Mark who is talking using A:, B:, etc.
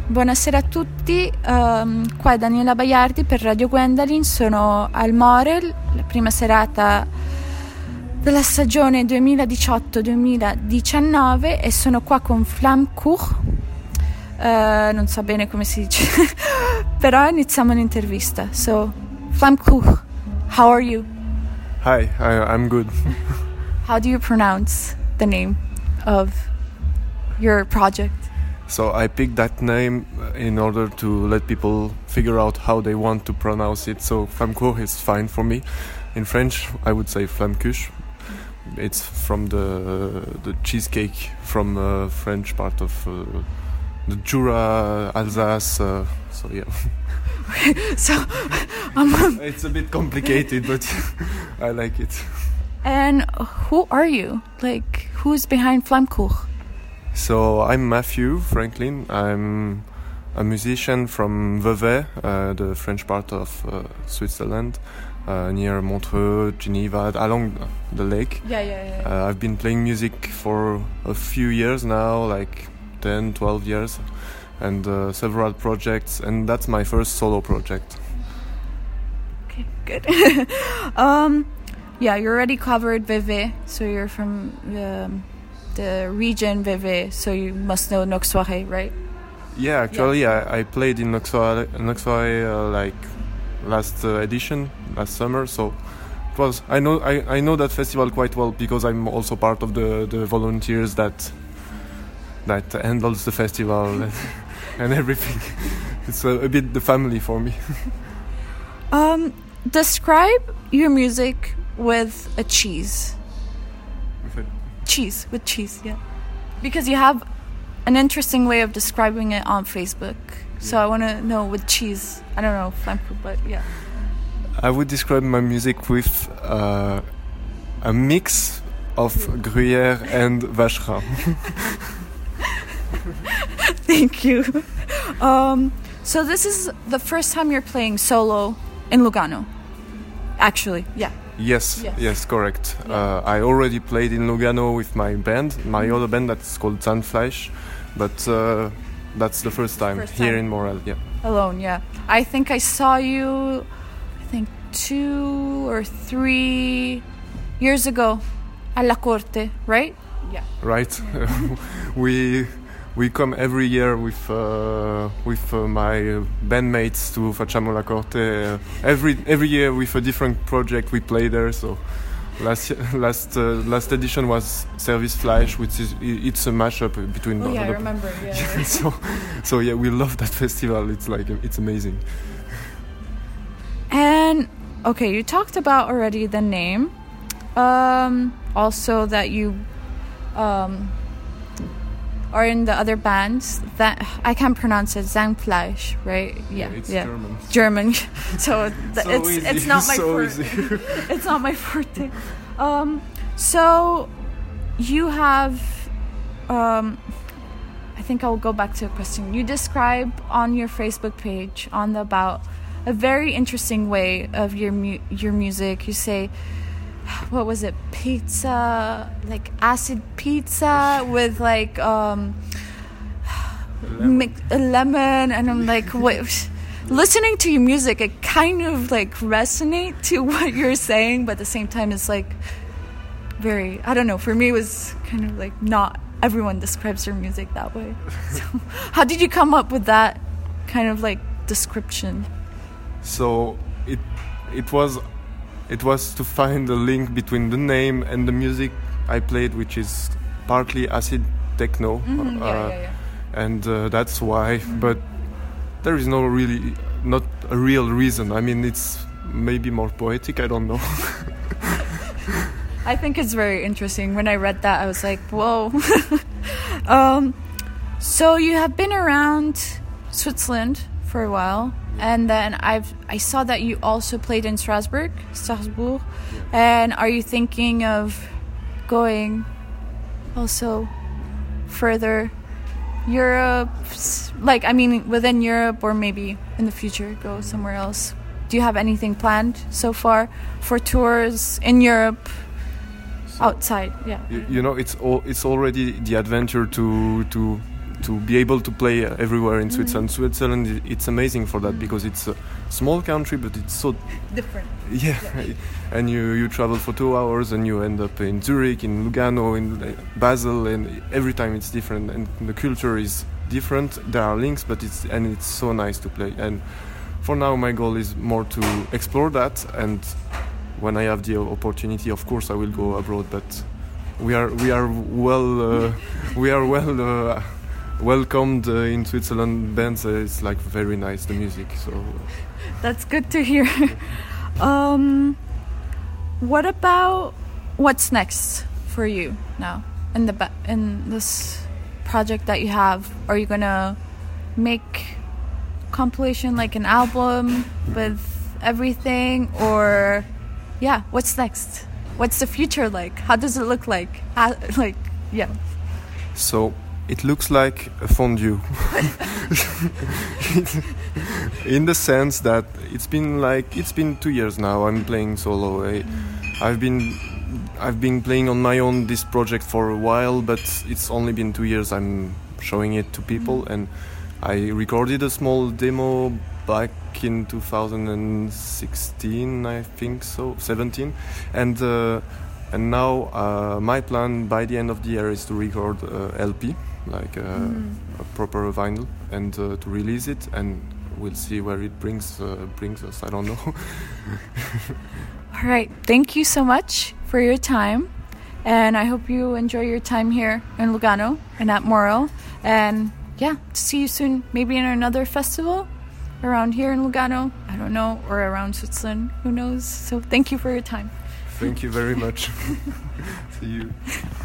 A: Buonasera a tutti, qua è Daniela Baiardi per Radio Gwendalin, sono al Morel, la prima serata della stagione 2018-2019 e sono qua con Flammkuch, non so bene come si dice, però iniziamo l'intervista. So, Flammkuch, how are you?
B: Hi, I'm good.
A: How do you pronounce the name of your project?
B: So I picked that name in order to let people figure out how they want to pronounce it. So Flammkuch is fine for me. In French, I would say Flammkuch. It's from the cheesecake from French part of the Jura, Alsace. So yeah.
A: So
B: it's a bit complicated, but I like it.
A: And who are you? Like, who's behind Flammkuch?
B: So I'm Matthew Franklin. I'm a musician from Vevey, the French part of Switzerland, near Montreux, Geneva, along the lake.
A: Yeah.
B: I've been playing music for a few years now, like 10, 12 years, and several projects, and that's my first solo project.
A: Okay, good. Yeah, you already covered Vevey, so you're from the region Vevey, so you must know Nok Soirée, right?
B: Yeah, actually, I played in Nok Soirée like last edition, last summer, so it was. I know that festival quite well because I'm also part of the volunteers that handles the festival and everything. It's a bit the family for me.
A: Describe your music with a cheese. With cheese, yeah. Because you have an interesting way of describing it on Facebook. So I want to know with cheese. I don't know Flammkuch, but yeah.
B: I would describe my music with a mix of Gruyère and Vacherin.
A: Thank you. So this is the first time you're playing solo in Lugano. Actually, yeah.
B: Yes, correct. Yeah. I already played in Lugano with my band, my other band that's called Zahnfleisch, but that's the first time here in Morel, yeah.
A: Alone, yeah. I think I saw you, 2 or 3 years ago at La Corte, right? Yeah.
B: Right. We come every year with my bandmates to Facciamo La Corte. Every year with a different project we play there. So last edition was Service Fleisch, which is it's a mashup between.
A: Oh yeah, I remember. Yeah.
B: So yeah, we love that festival. It's amazing.
A: And okay, you talked about already the name. Also that you are in the other bands that I can't pronounce it. Zahnfleisch, right?
B: Yeah.
A: German. So it's not my
B: forte.
A: It's not my forte. So you have. I think I'll go back to a question. You describe on your Facebook page about a very interesting way of your music. You say, what was it? Pizza, like acid pizza with like lemon, and I'm like, wait. Listening to your music, it kind of like resonate to what you're saying, but at the same time, it's like very. I don't know. For me, it was kind of like not everyone describes their music that way. So, how did you come up with that kind of like description?
B: So it was to find a link between the name and the music I played, which is partly acid techno. And that's why. But there is not a real reason. I mean, it's maybe more poetic, I don't know.
A: I think it's very interesting. When I read that, I was like, whoa. So you have been around Switzerland for a while. And then I saw that you also played in Strasbourg.
B: Yeah.
A: And are you thinking of going also further Europe? Like, I mean, within Europe, or maybe in the future go somewhere else? Do you have anything planned so far for tours in Europe? Outside, yeah.
B: You know, it's already the adventure to to be able to play everywhere in Switzerland. Switzerland, it's amazing for that because it's a small country, but it's so
A: different.
B: Yeah, and you travel for 2 hours and you end up in Zurich, in Lugano, in Basel, and every time it's different, and the culture is different. There are links, but it's so nice to play. And for now, my goal is more to explore that, and when I have the opportunity, of course, I will go abroad. But we are well welcomed in Switzerland. Bands, it's like very nice, the music. So
A: that's good to hear. What about what's next for you now in this project that you have? Are you gonna make compilation, like an album with everything, or what's next? What's the future like? How does it look like?
B: So it looks like a fondue in the sense that it's been 2 years now. I'm playing solo. I've been playing on my own this project for a while, but it's only been 2 years I'm showing it to people, and I recorded a small demo back in 2016, I think so, 17, and now my plan by the end of the year is to record LP, like a proper vinyl, and to release it, and we'll see where it brings us. I don't know.
A: All right, thank you so much for your time, and I hope you enjoy your time here in Lugano and at Morel, and see you soon, maybe in another festival around here in Lugano, I don't know, or around Switzerland, who knows. So thank you for your time.
B: Thank you very much. See you.